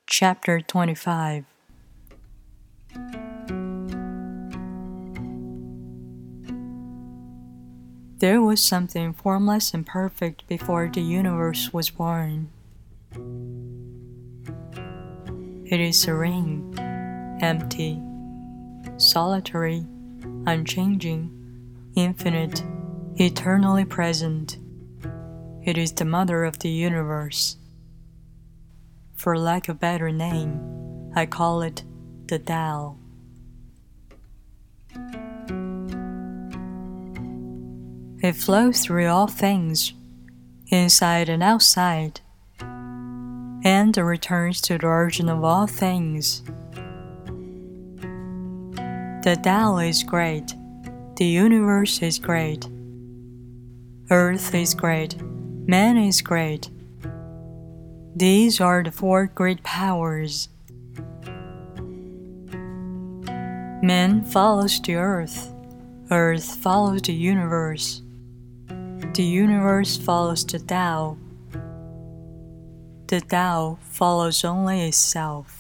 Chapter 25. There was something formless and perfect before the universe was born. It is serene, empty, solitary, unchanging, infinite, eternally present. It is the mother of the universe. For lack of a better name, I call it the Tao. It flows through all things, inside and outside, and returns to the origin of all things. The Tao is great, the universe is great, Earth is great, man is great. These are the four great powers. Man follows the earth follows the universe follows the Tao follows only itself.